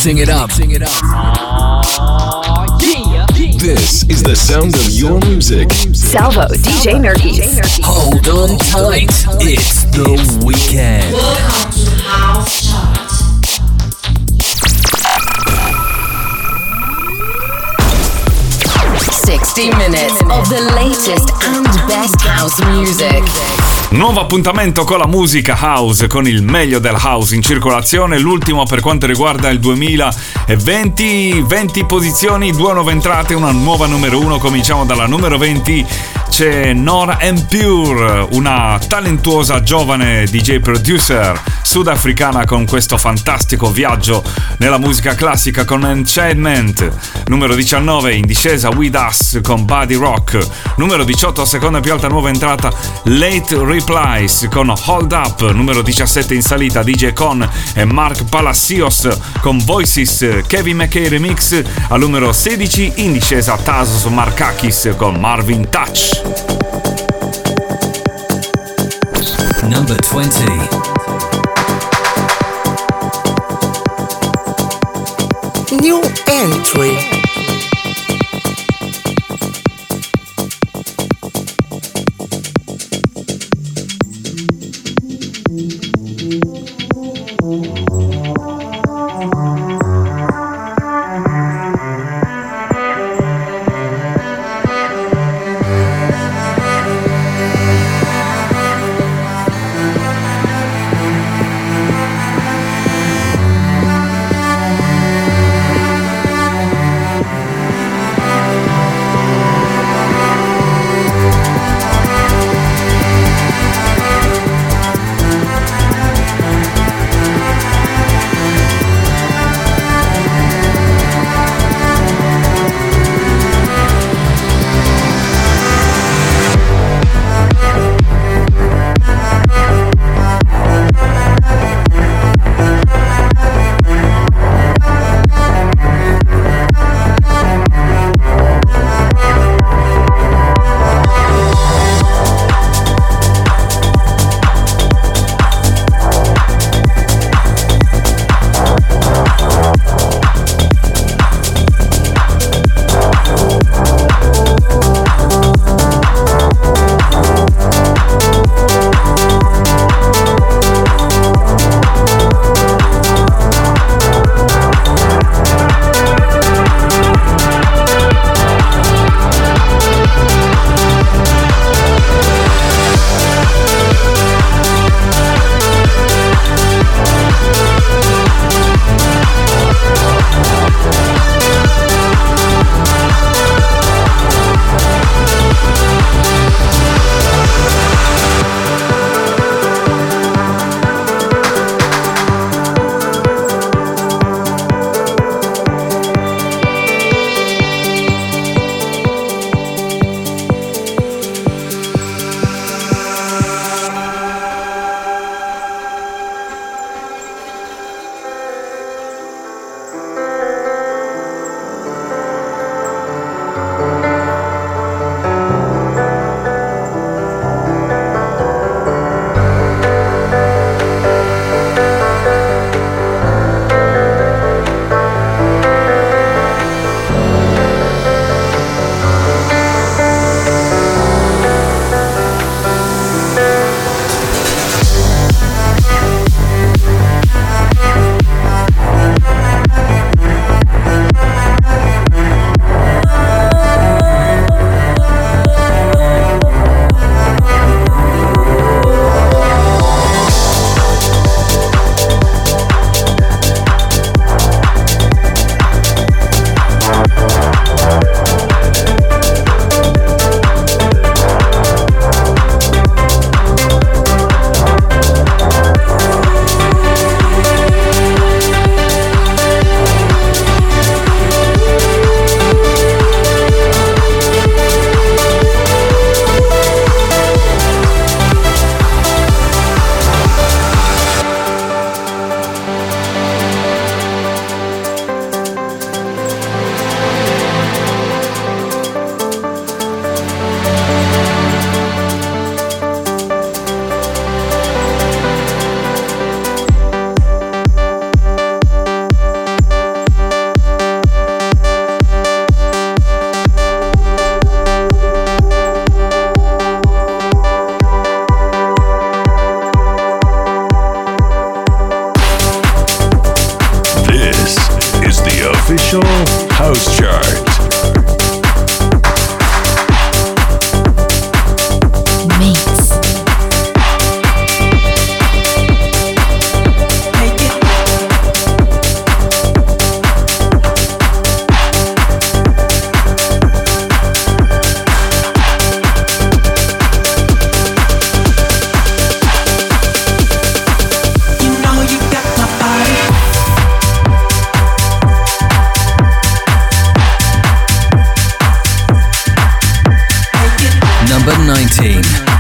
Mixing it up. This is the sound of your music. Salvo DJ Nergis. Hold on tight. It's the weekend. Welcome to House Chart. Minutes of the latest and best house music. Nuovo appuntamento con la musica house, con il meglio del house in circolazione, l'ultimo per quanto riguarda il 2020, 20 posizioni, 2 nuove entrate, una nuova numero 1. Cominciamo dalla numero 20, c'è Nora En Pure, una talentuosa giovane DJ producer sudafricana con questo fantastico viaggio nella musica classica con Enchantment. Numero 19 in discesa With Us con Body Rock. Numero 18, seconda più alta nuova entrata, Late Replies con Hold Up. Numero 17 in salita DJ Con e Mark Palacios con Voices, Kevin McKay Remix. Al numero 16 in discesa Tasos Markakis con Marvin Touch. Number 20. New entry. official house chart. Number 19.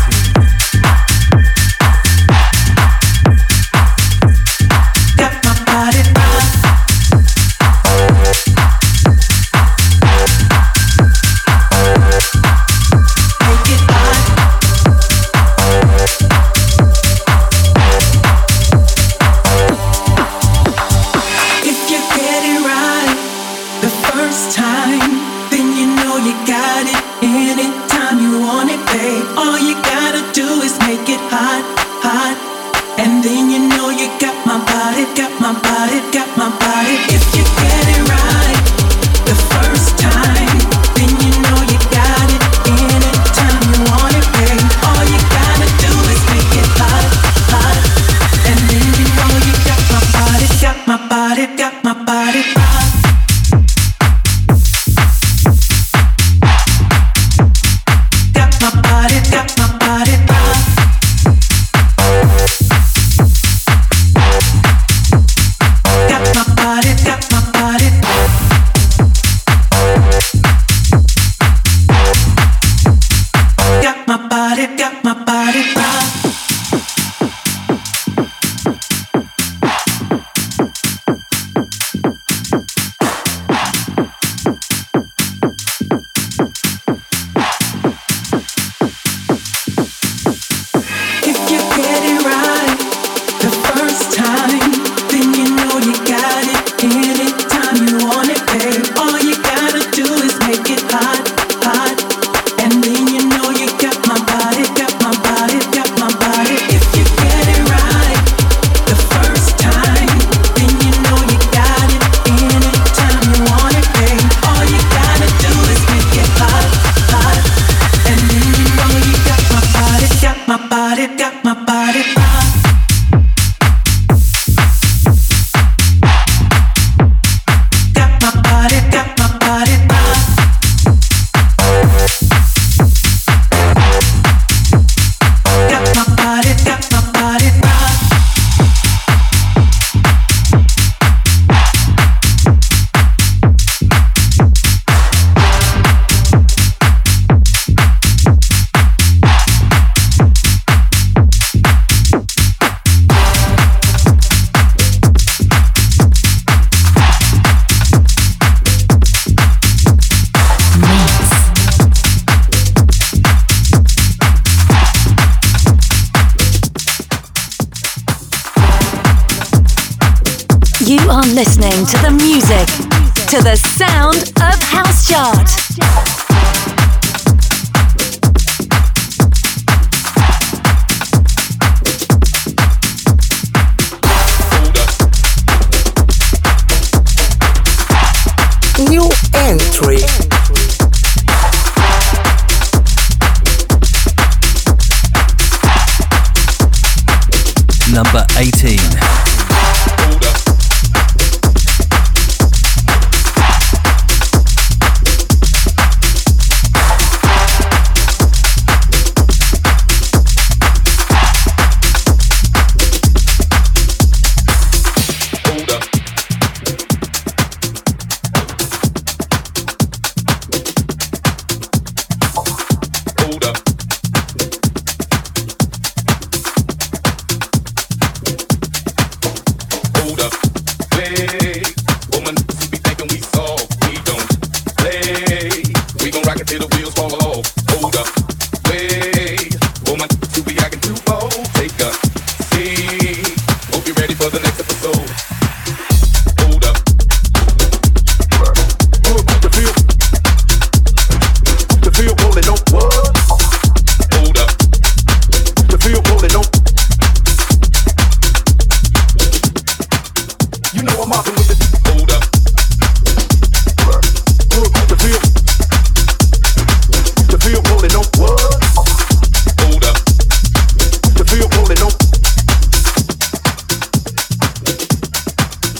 Listening to the music, to the sound of House Chart. New entry. Number 18.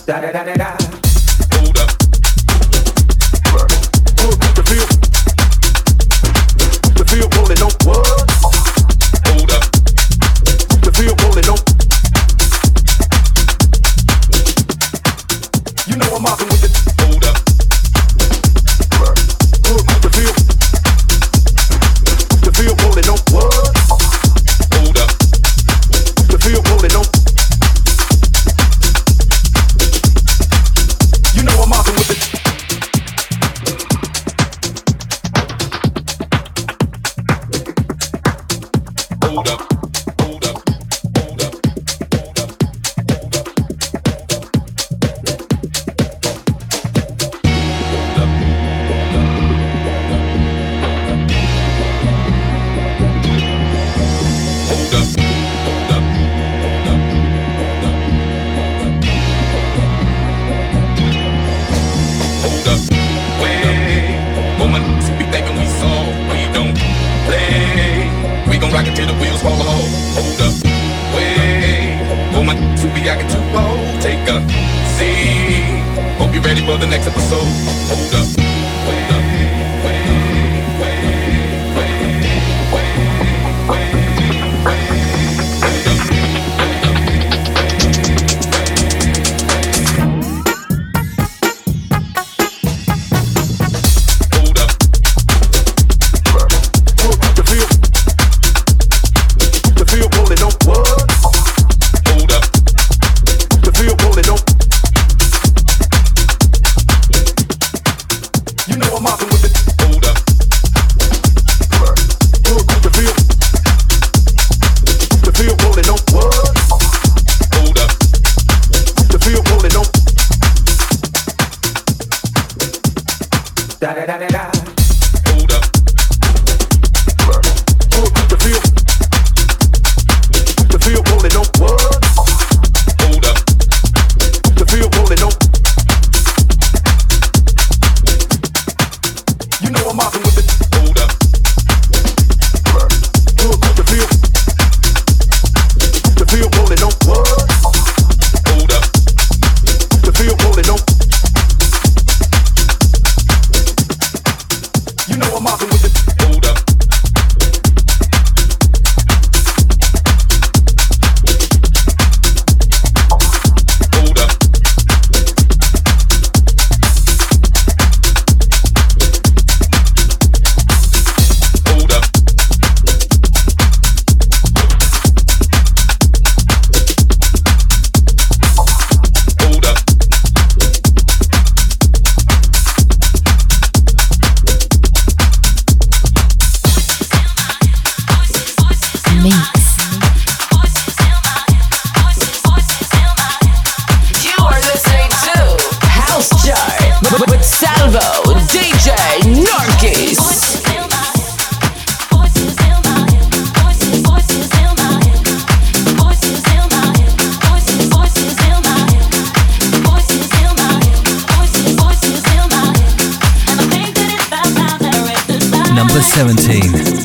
Number 17.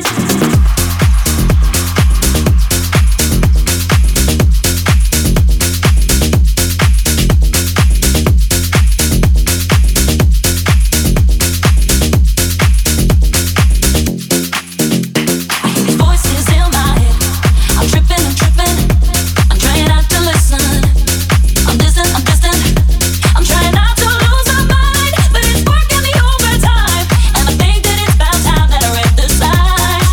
Side.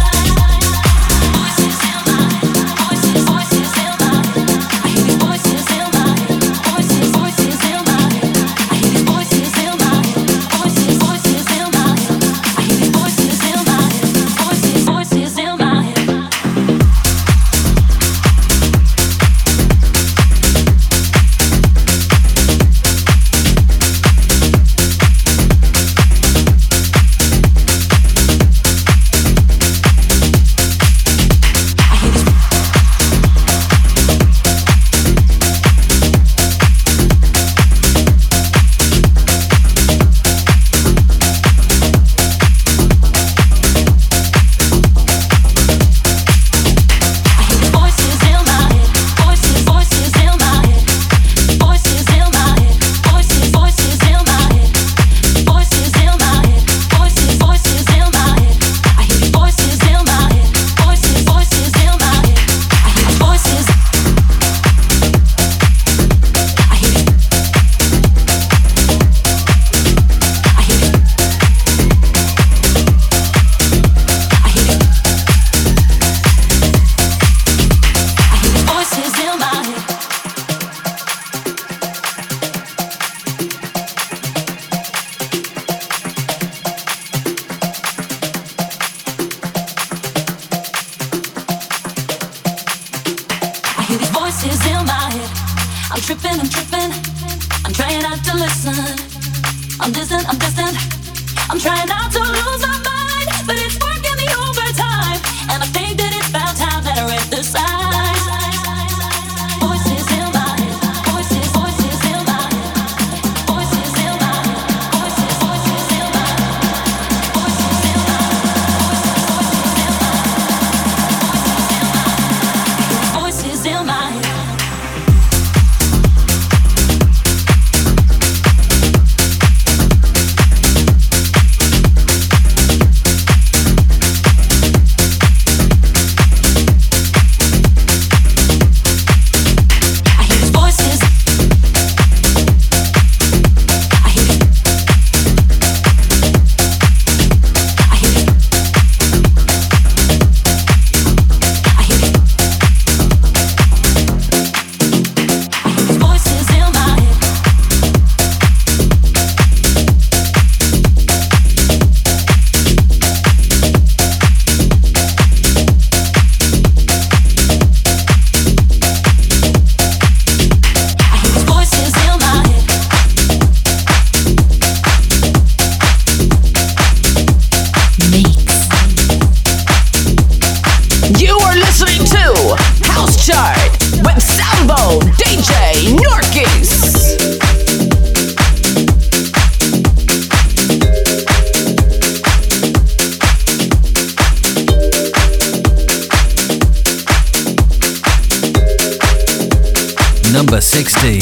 Voices in my head. I'm tripping. I'm trying not to listen. I'm distant. I'm trying not to lose my mind, but it's working me overtime. And I think that it's about time that I read the signs. Voices in my head. Voices in my head. Voices in my head. Voices in my head. Voices in my head. Voices in my head. Number 16.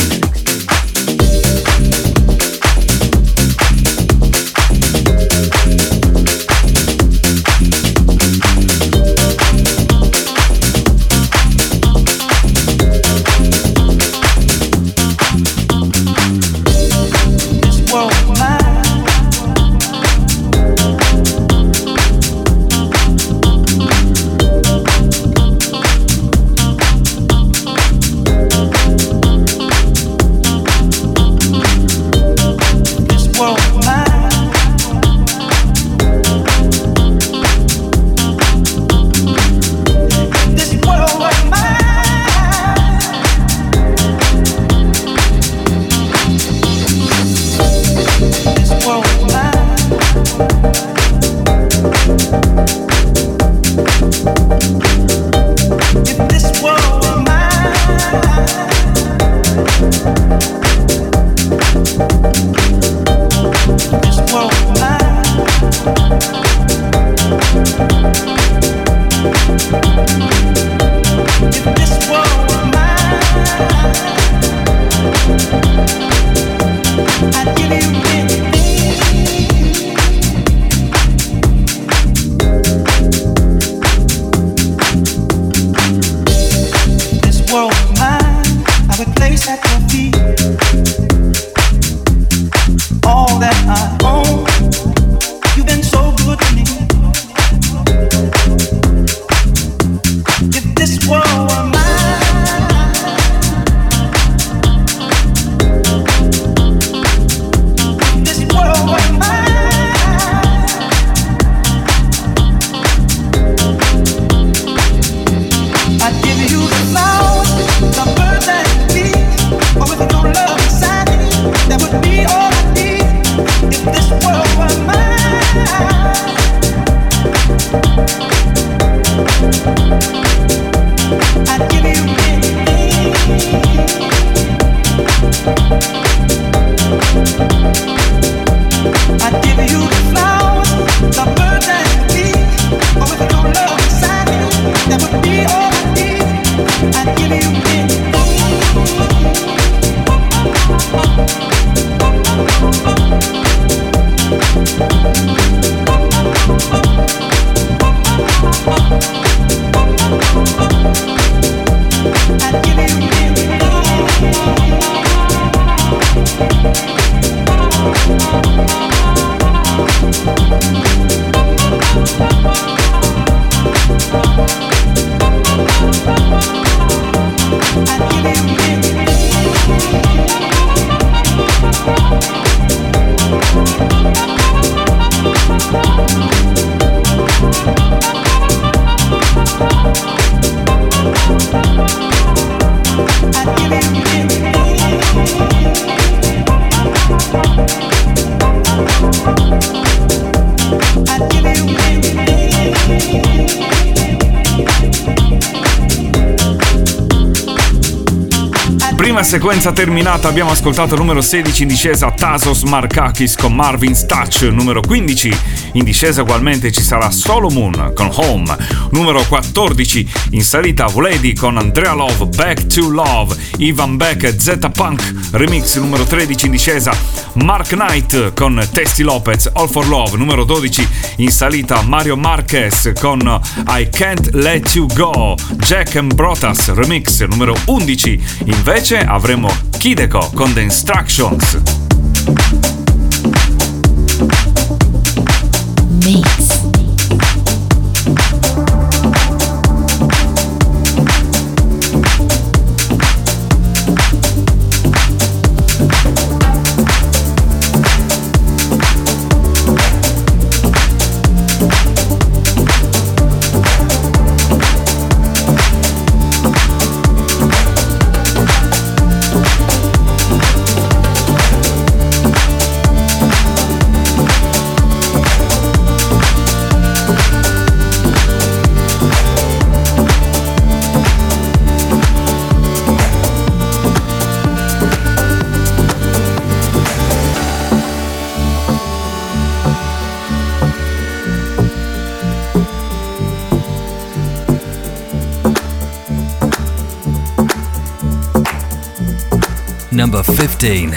I'd give you the flowers, the birds and the bees, or with Prima sequenza terminata, abbiamo ascoltato numero 16 in discesa Tasos Markakis con Marvin's Touch. Numero 15 in discesa ugualmente ci sarà Solomon con Home. Numero 14 in salita Vladi con Andrea Love, Back to Love. Ivan Beck e Zeta Punk remix. Numero 13 in discesa Mark Knight con Testy Lopez, All for Love. Numero 12 in salita Mario Marquez con I Can't Let You Go, Jack and Brotas remix. Numero 11 invece avremo Kideko con The Instructions. Mix. Number 15.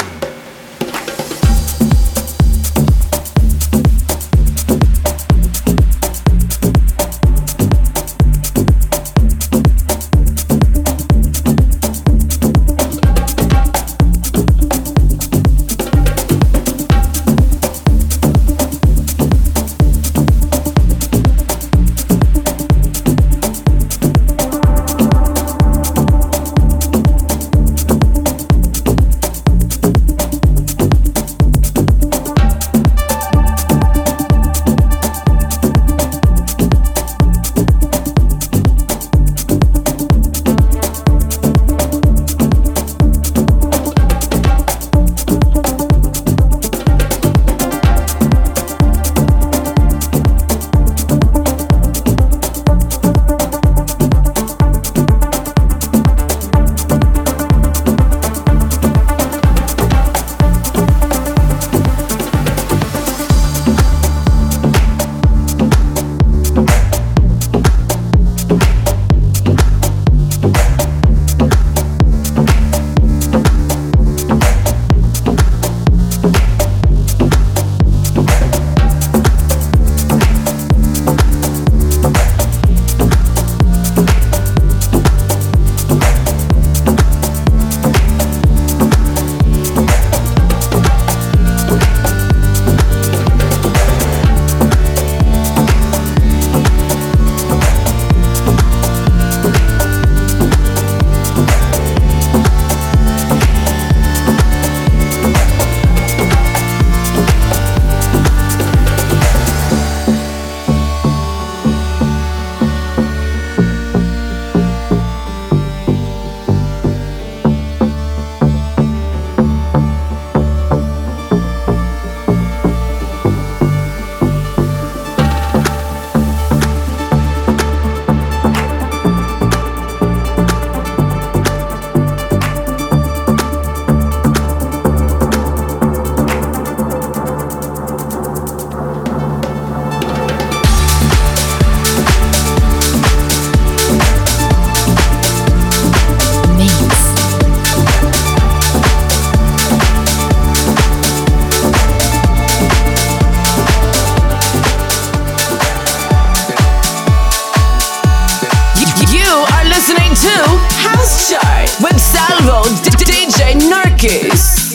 with Salvo DJ Narkis.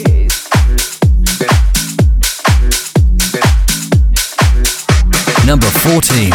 Number 14.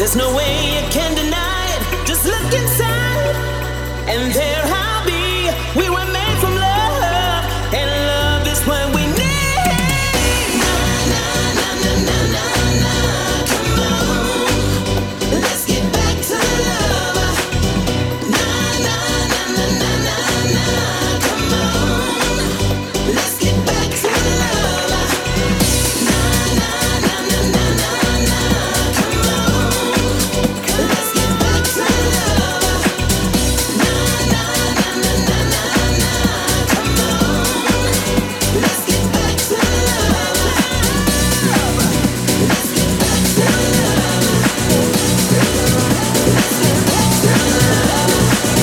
There's no way you can deny it. Just look inside, and there I'll be. We were made from love, and love is what we need. Na na na na na na na. Come on, let's get back to love. Na na na na na na na. Come on, let's get back to love. Na na na na na na na. Come on, let's get back to love. Na na na na na na na. Come on, let's get back to love. Let's get back to love. Let's get back to love.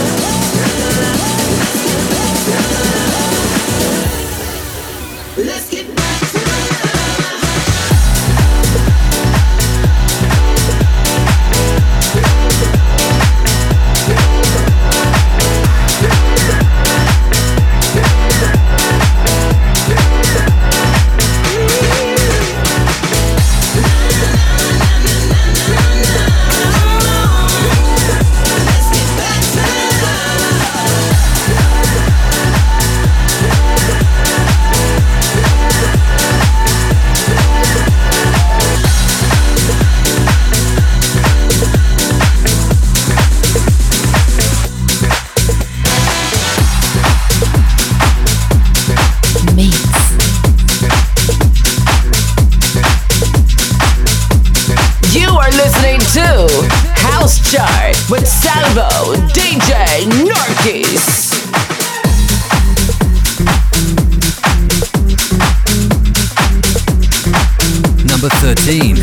Let's get back to love. You are listening to House Chart with Salvo DJ Narkis. Number 13.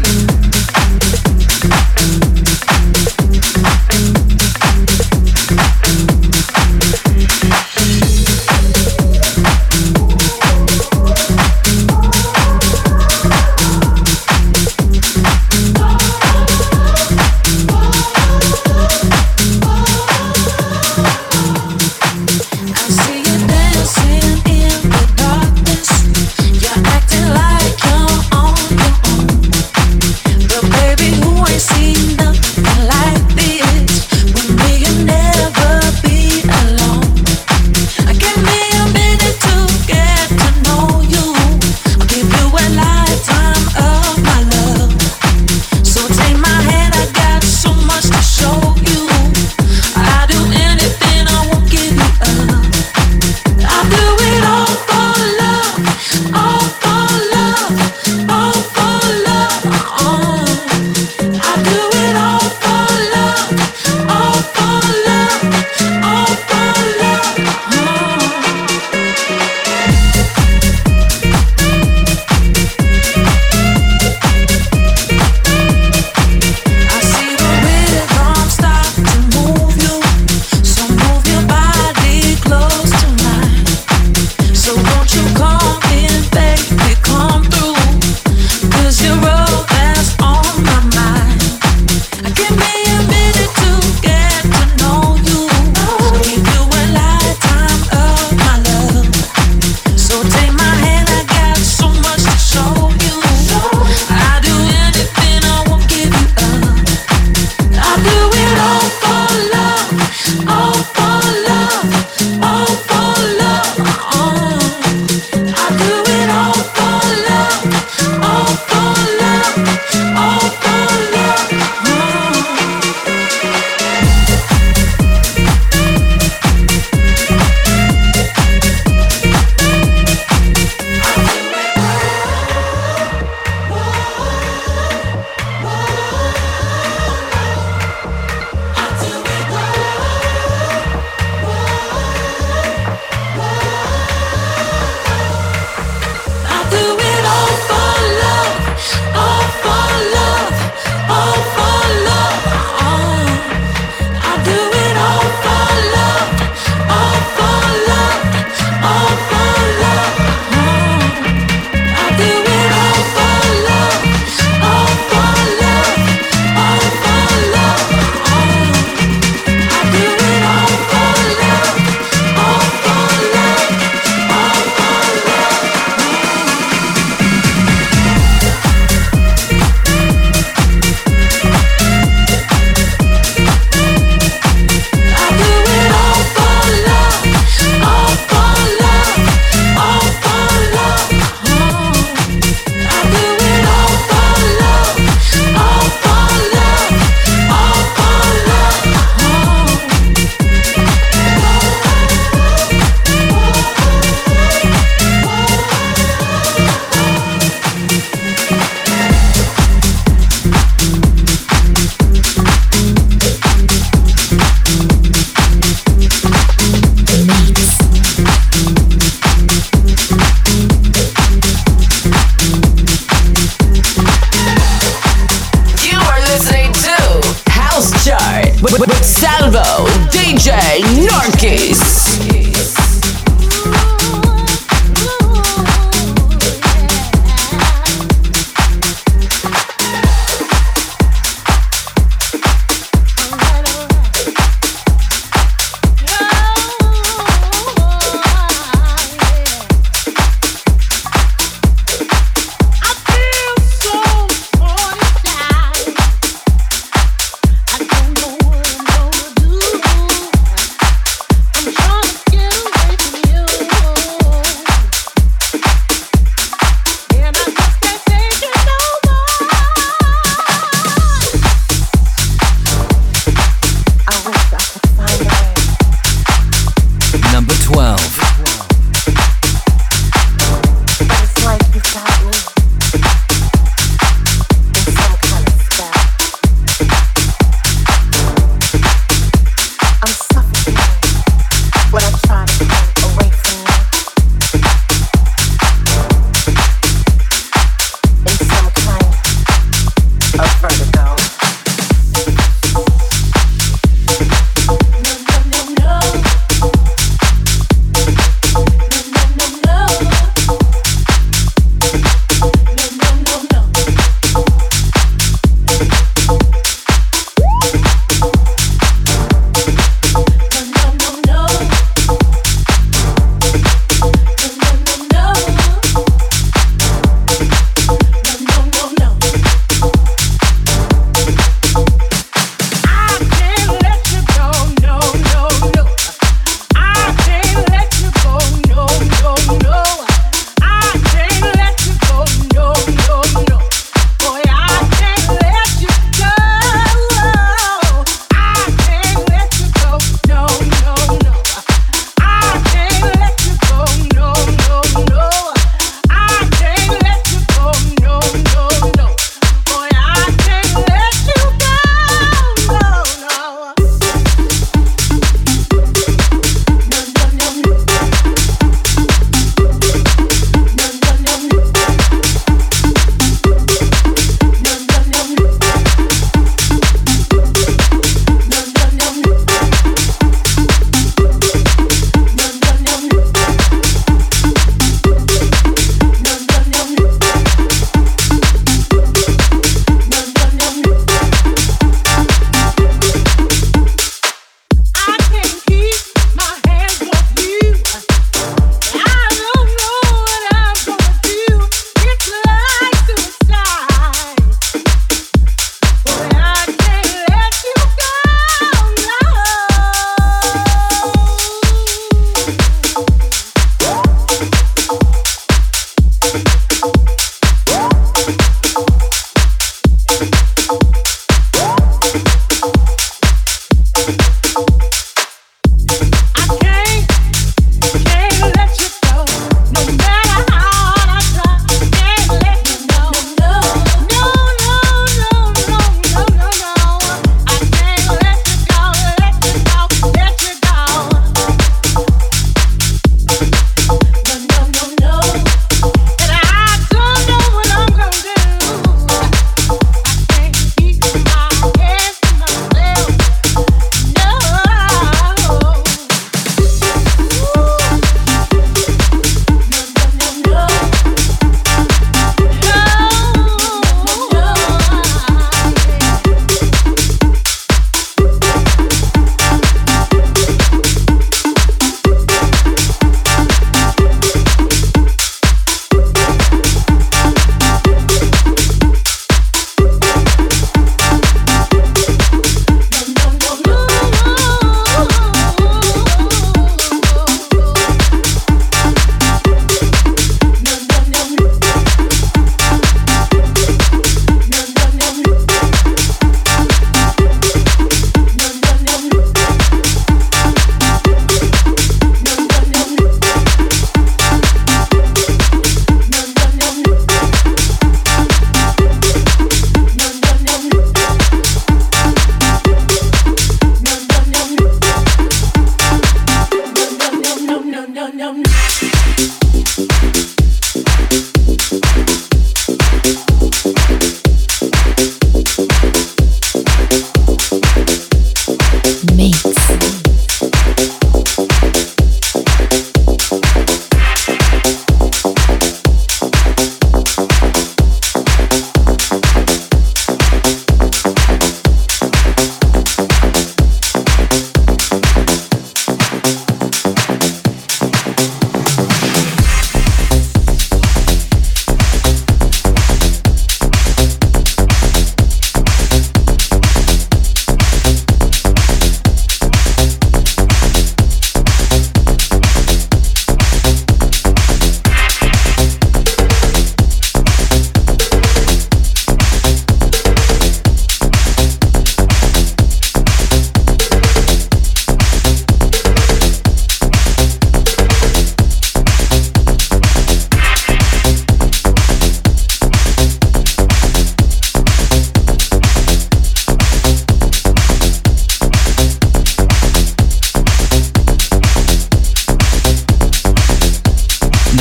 I see you dancing in the darkness. You're acting like you're on your own. But baby, who ain't seen nothing like this? With me, you'll never be alone. Give me a minute to get to know you. I'll give you a lifetime of my love. So take my hand, I got so much to show you. I'll do anything, I won't give you up. I'll do it all for love, all for love, all for love. I'll do it all for love, all for love, all for love. I see the rhythm start to move you, so move your body close to mine. So won't you come in, baby, come through, 'cause you're all that's on my mind. Give me a minute to get to know you. I'll give you a lifetime of my love. So take my hand, I got so much to show you. I'll do anything, I won't give you up. I'll do it all for love, all for love, all for love. I'll do it all for love, all for love, all for love.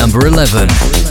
number 11.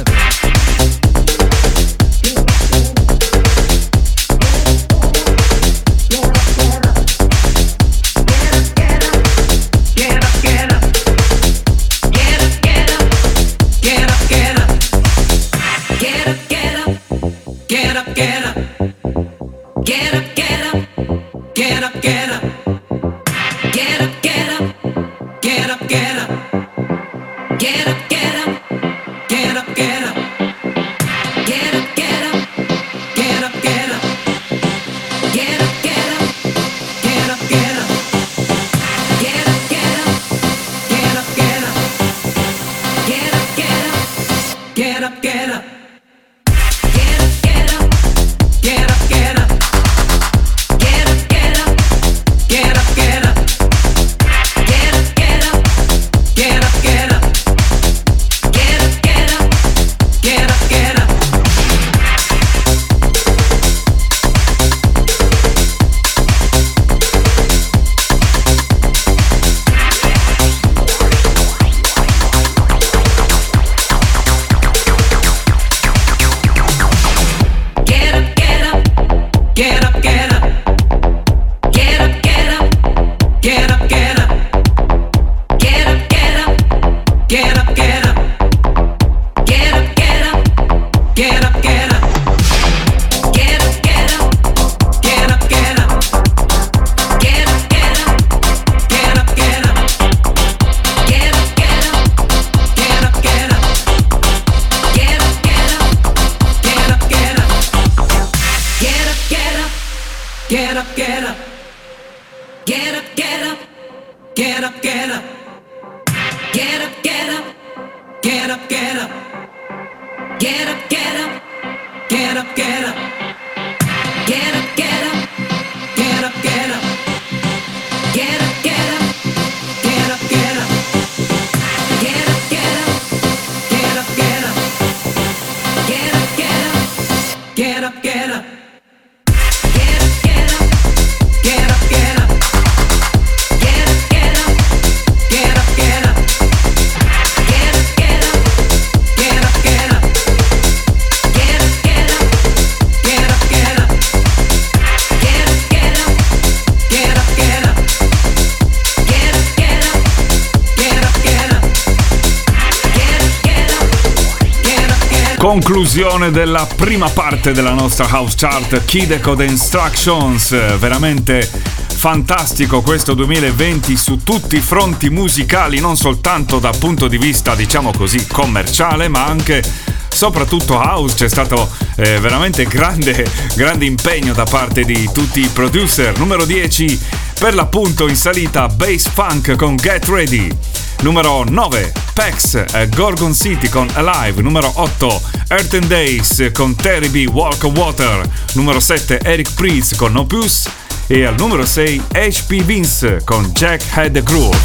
Conclusione della prima parte della nostra House Chart, Kid Code Instructions. Veramente fantastico questo 2020 su tutti i fronti musicali, non soltanto dal punto di vista, diciamo così, commerciale, ma anche soprattutto house. C'è stato veramente grande impegno da parte di tutti i producer. Numero 10 per l'appunto in salita, Bass Funk con Get Ready. Numero 9, Pex, Gorgon City con Alive. Numero 8, Earth and Days con Terry B, Walk on Water. Numero 7, Eric Prydz con No Puss. E al numero 6, HP Vince con Jack Had the Groove.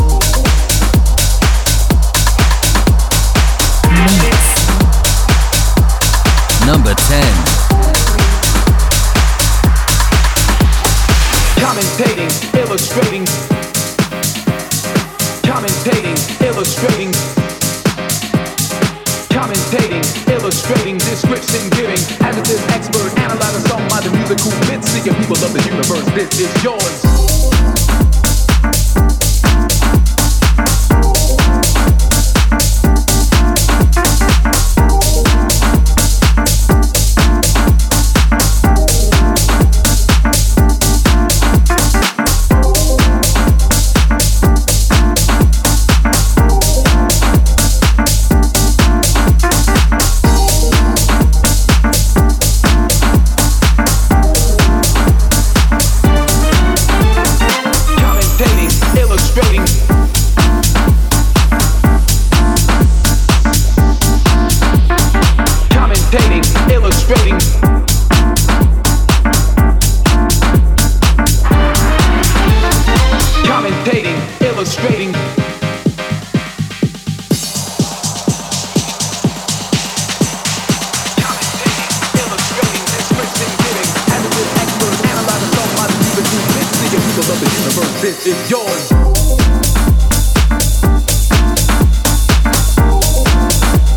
Number 10. Commentating, illustrating, description giving, adjective expert, analyze a song by the musical bits, seeking people of the universe, this is yours. This is yours.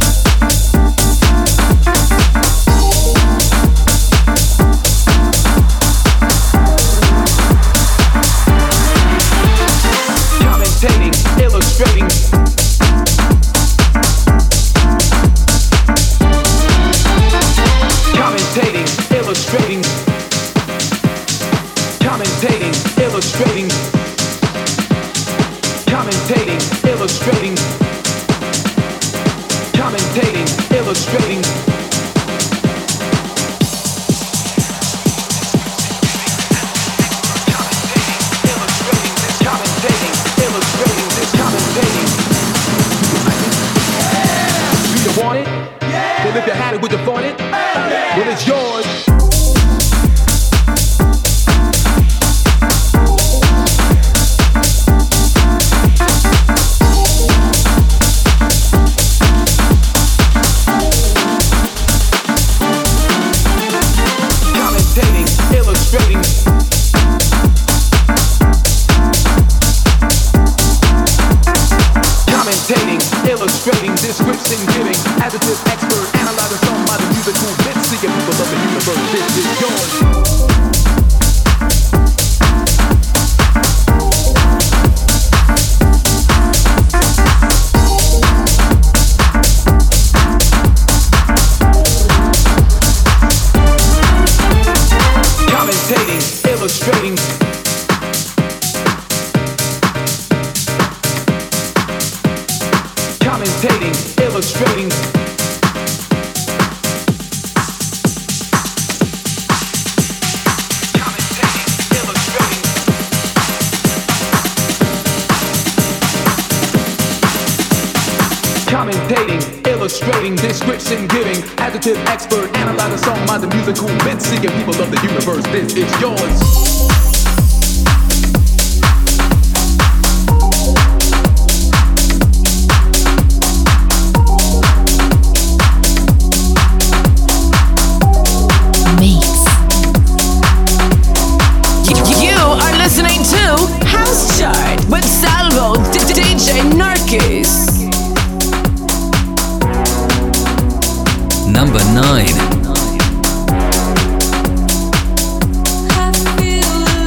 commentating, illustrating, commentating, illustrating. Want it? Yeah. Well, if you had it, would you want it? Yeah. Well, it's yours. Commentating, illustrating. Commentating, illustrating, description giving, adjective expert, analyzing some by the musical bits, seeking people of the universe. This is yours. Commentating, illustrating. Commentating, illustrating. Commentating, illustrating, description giving, adjective expert, analyzing song by the musical bits, seeking people of the universe. This is yours. House Chart with Salvo DJ Narkis. Number 9. I feel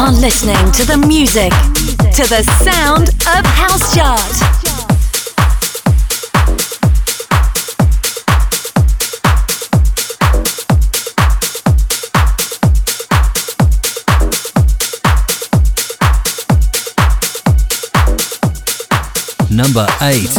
are listening to the music, to the sound of House Chart. Number 8.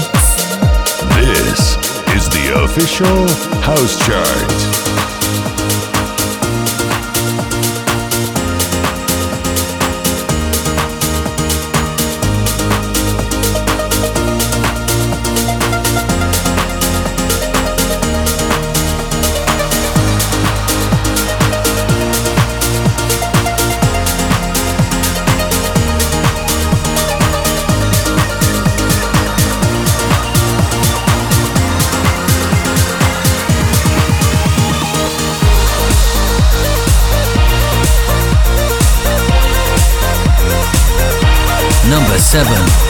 official House Chart. 7.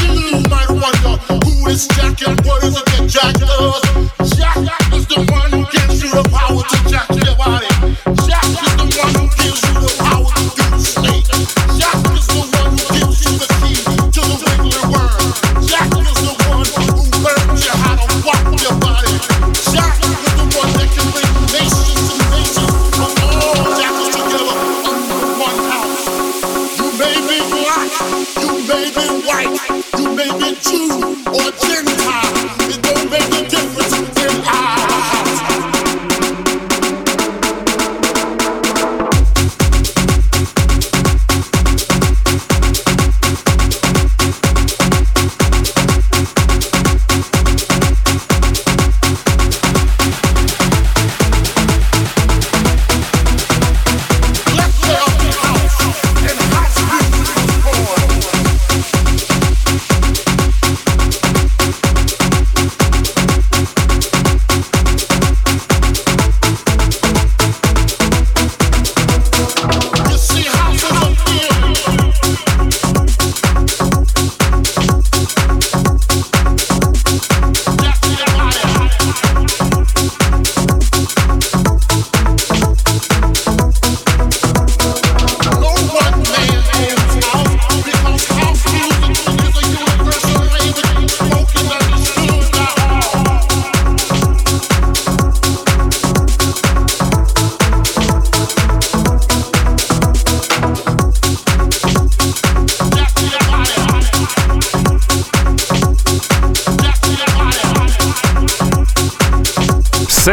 Jack is the one who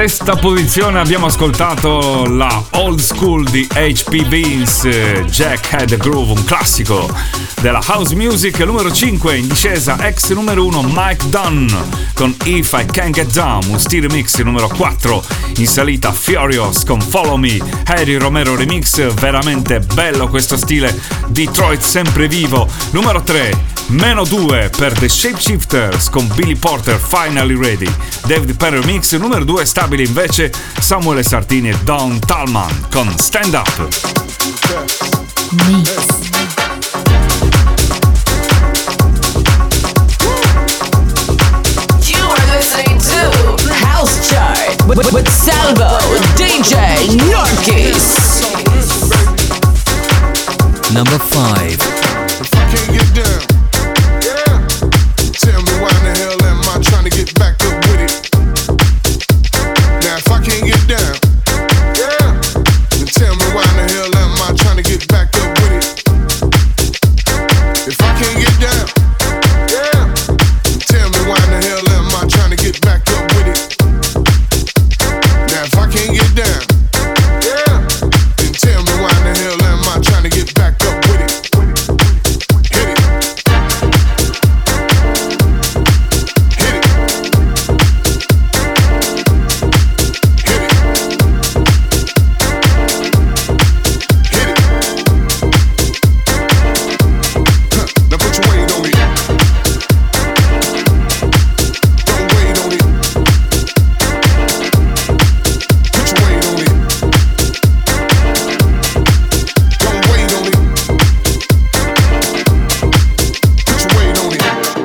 sesta posizione abbiamo ascoltato la Old School di HP Vince, Jack Had a Groove, un classico della house music. Numero 5 in discesa, ex numero 1 Mike Dunn con If I Can Get Down, un stile mix. Numero 4 in salita, Furious con Follow Me, Harry Romero remix, veramente bello questo stile, Detroit sempre vivo. Numero 3 meno 2 per The Shapeshifters con Billy Porter, Finally Ready, David Perry remix. Numero 2 stabile invece, Samuele Sartini e Don Tallman con Stand Up. Mix. House Chart with Salvo, DJ Norkis. Number 5. If I can't get down, yeah, tell me why in the hell am I trying to get back up with it? Now if I can't get down, yeah, then tell me why in the hell am I trying to get back up with it? If I can't get down, yeah, then tell me why in the hell am I trying to get back up with it? Now if I can't get down, yeah, then tell me why in the hell am I trying to get back up with it? Hit it. Hit it. Hit it. Hit it. Huh. Now put your weight on it. Don't wait on it. Put your weight on it. Don't wait on it. Put your weight on it.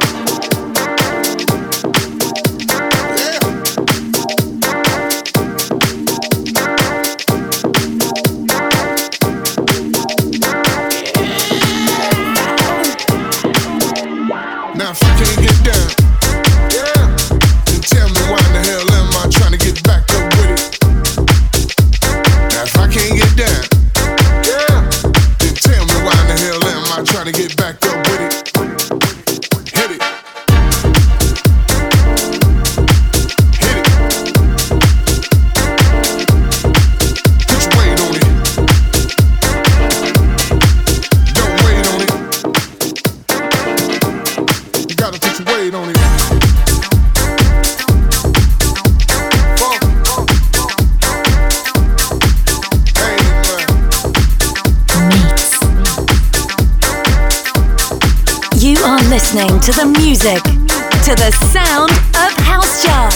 Yeah. Now if I can't get down, yeah, then tell me why in the hell am I trying to get back up with it? Now if I can't get down, yeah, then tell me why in the hell am I trying to get back up with it? Hit it. Hit it. Put your weight on it. Don't wait on it. You gotta put your weight on it. Funk. Hey, man. Mix. You are listening to the music, to the sound of House Chart.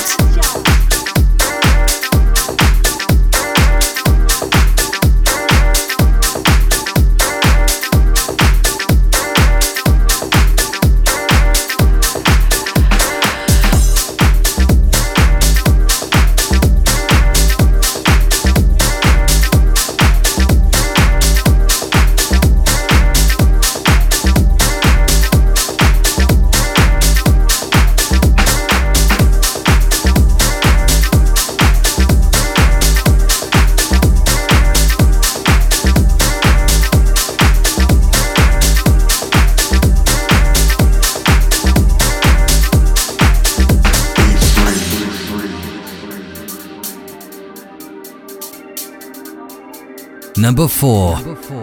Number 4.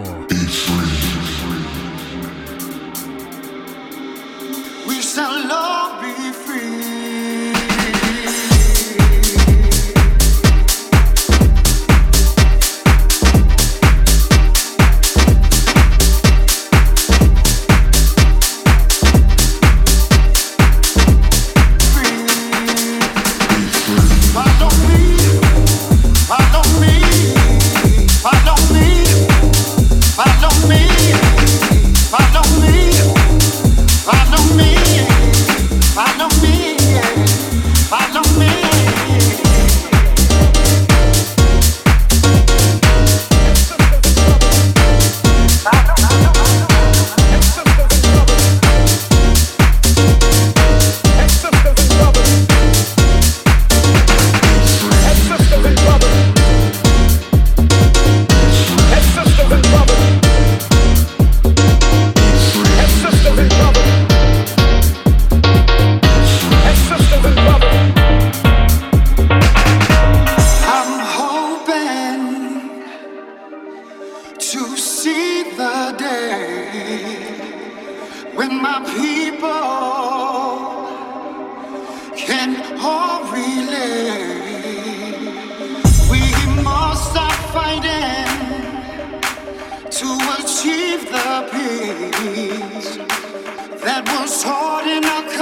We shall all be free. Follow me, follow me, follow me, follow me, follow me, follow me.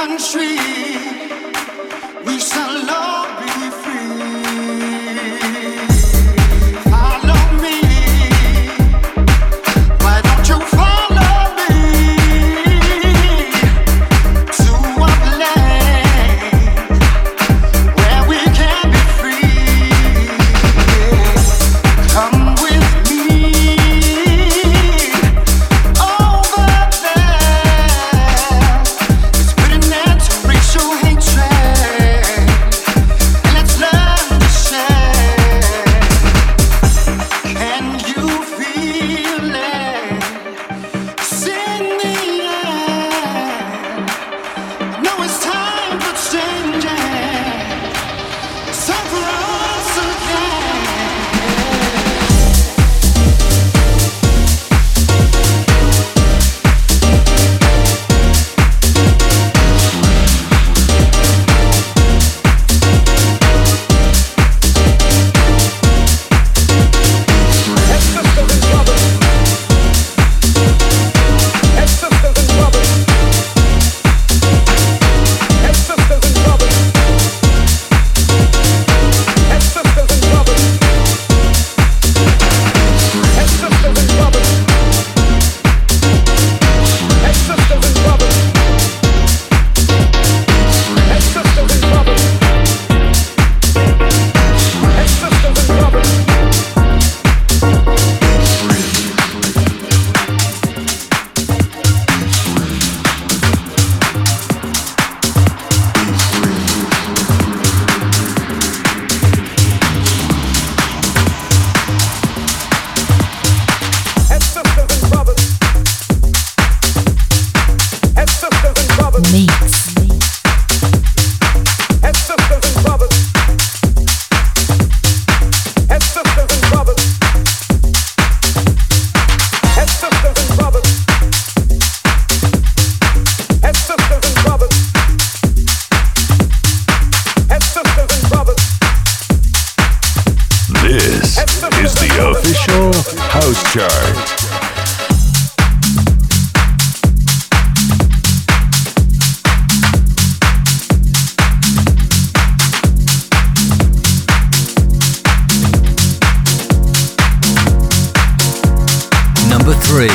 country, we shall all be free. Follow me, why don't you follow me to a place where we can be free? Come with me over there. Let's put an end to racial hatred and let's learn to share. Can you feel it? Sing the air. I know it's time for changing. It's time for us again. This is the official House Chart. Number 3.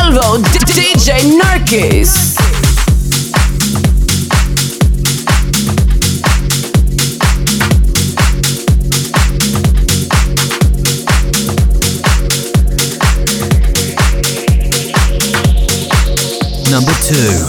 Salvo, DJ Narkis. Number 2.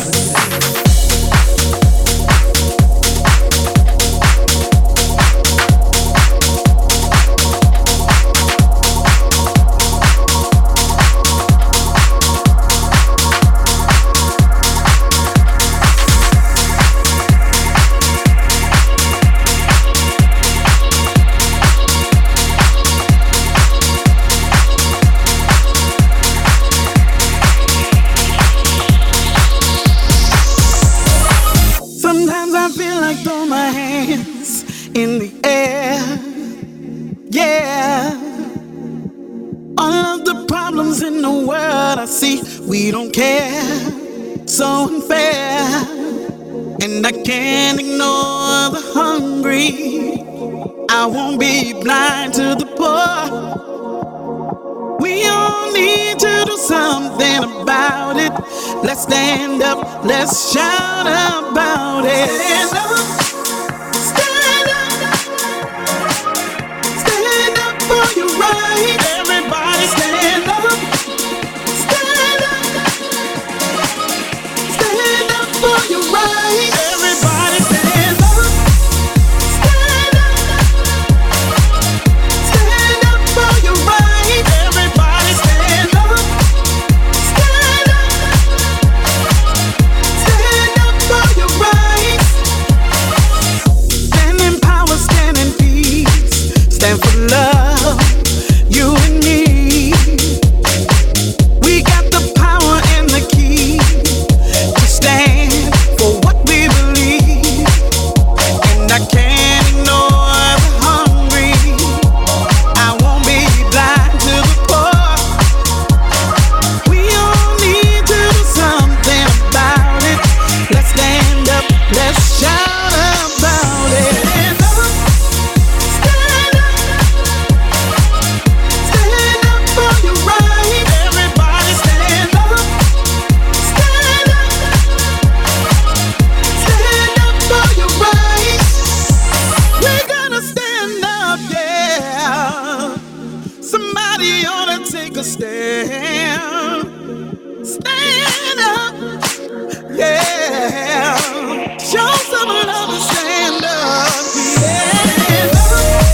In the air, yeah. All of the problems in the world I see, we don't care. So unfair, and I can't ignore the hungry. I won't be blind to the poor. We all need to do something about it. Let's stand up, let's shout about it. Stand up. For your right, everybody stand up. Stand up. Stand up for your right, everybody stand up. Stand up. Stand up for your right, everybody stand up. Stand up. Stand up for your right. Stand in power, stand in peace, stand for love. You and me, we got the power and the key to stand for what we believe. And I can't ignore the hungry. I won't be blind to the poor. We all need to do something about it. Let's stand up, let's shout about it. Take a stand, stand up, yeah. Show some love and stand up, stand up,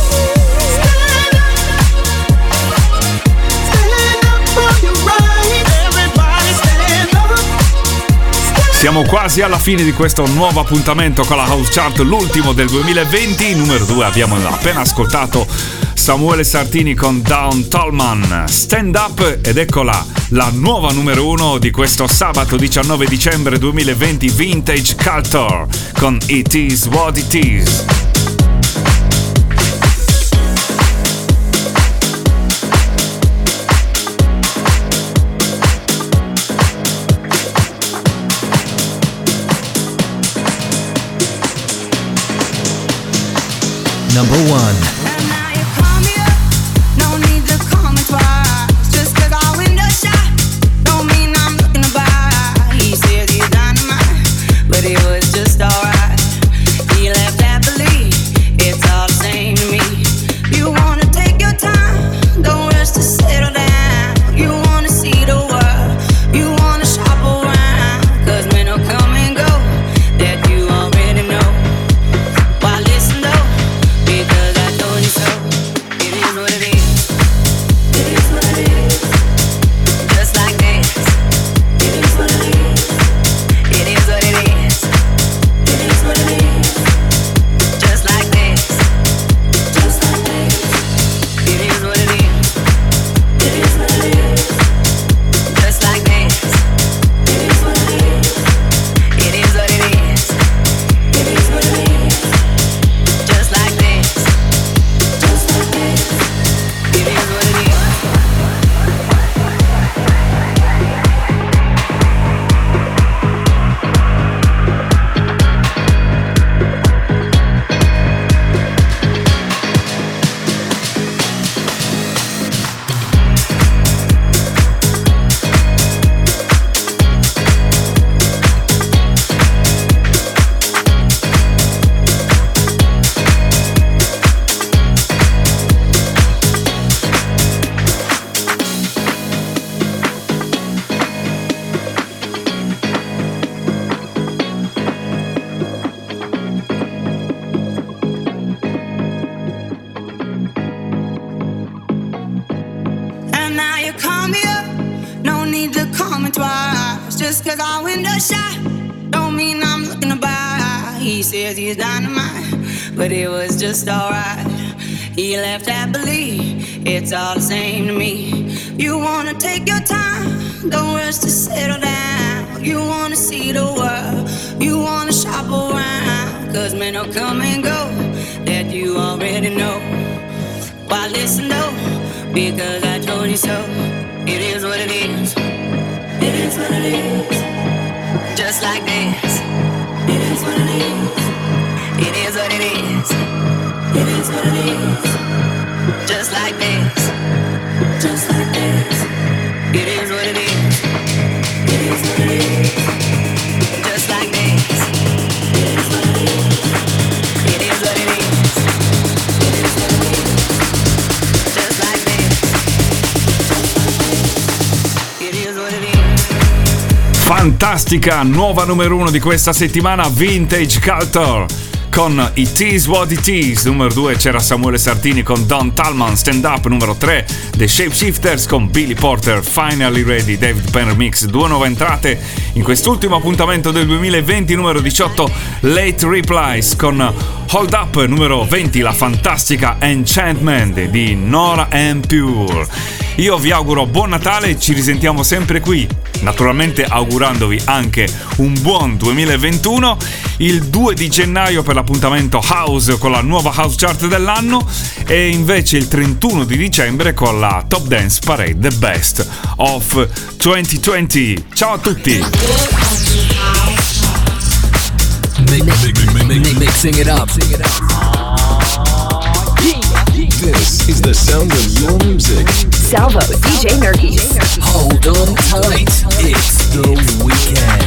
stand up for your right. Everybody stand up. Siamo quasi alla fine di questo nuovo appuntamento con la House Chart, l'ultimo del 2020. Numero 2 abbiamo appena ascoltato Samuele Sartini con Dawn Tallman, Stand Up, ed eccola la nuova numero 1 di questo sabato 19 dicembre 2020, Vintage Culture con It Is What It Is. Number 1. Because I told you Just cause our window's shut don't mean I'm looking to buy. He says he's dynamite, but it was just alright. He left happily, it's all the same to me. You wanna take your time, don't rush to settle down. You wanna see the world, you wanna shop around. Cause men will come and go, that you already know. Why listen though, because I told you so. It is what it is, it is what it is. Just like this, it is what it is. It is what it is, it is what it is. Just like this, just like this. It is what it is, it is what it is. Just like this, it is what it is. It is what it is, it is what it is. Just like this, it is what it is. Fantastica nuova numero 1 di questa settimana, Vintage Culture con It Is What It Is. Numero 2 c'era Samuele Sartini con Don Tallman, Stand Up. Numero 3 The Shapeshifters con Billy Porter, Finally Ready, David Penn Remix. 2 nuove entrate in quest'ultimo appuntamento del 2020. Numero 18 Late Replies con Hold Up. Numero 20 la fantastica Enchantment di Nora En Pure. Io vi auguro buon Natale e ci risentiamo sempre qui, naturalmente augurandovi anche un buon 2021. Il 2 di gennaio per l'appuntamento House con la nuova House Chart dell'anno e invece il 31 di dicembre con la Top Dance Parade The Best of 2020. Ciao a tutti! Mixing it up. This is the sound of your music. Salvo, DJ Nurkis. Hold on tight. It's the weekend.